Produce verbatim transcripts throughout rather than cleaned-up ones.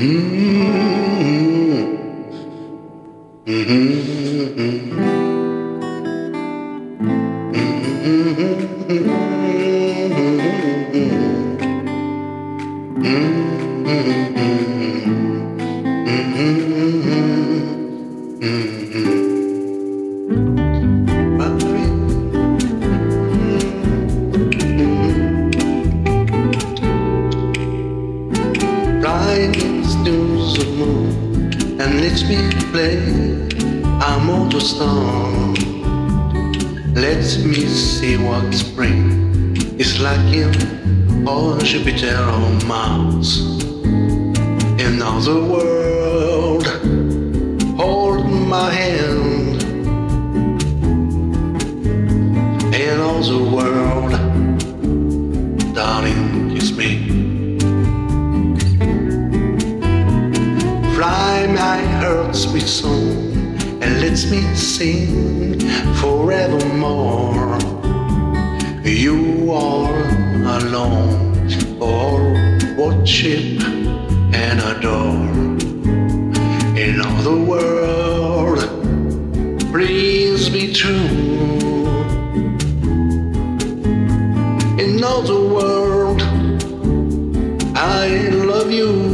And let me play, I'm on the star. Let me see what spring is like in or Jupiter or Mars. In other world, hold my hand. In other world, darling, kiss me. Fly my heart sweet song and let me sing forevermore. You are alone, or worship and adore. In other world, please be true. In other world, I love you.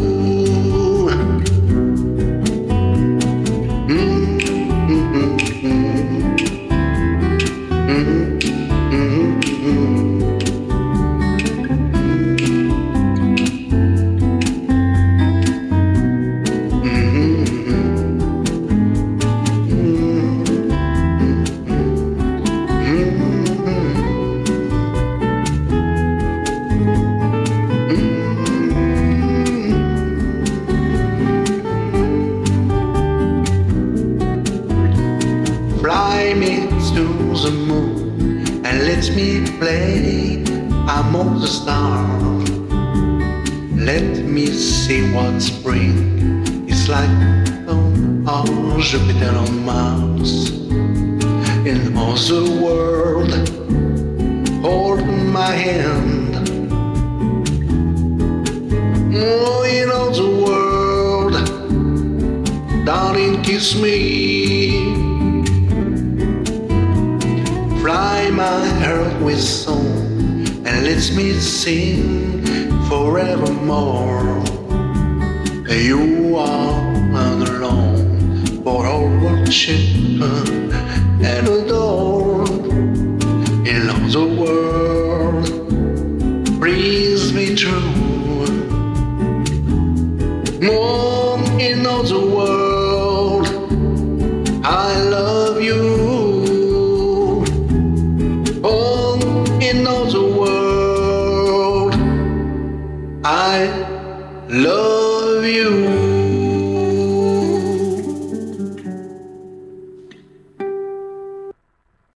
Fly me to the moon and let me play among the stars. Let me see what spring is like on Jupiter or Mars. In other world, hold my hand. Oh, in other world, darling, kiss me. Fly my heart with song and let me sing forevermore. You are alone for all worship and adore. In other world, please be true. More in other world, I love you. In other world, I love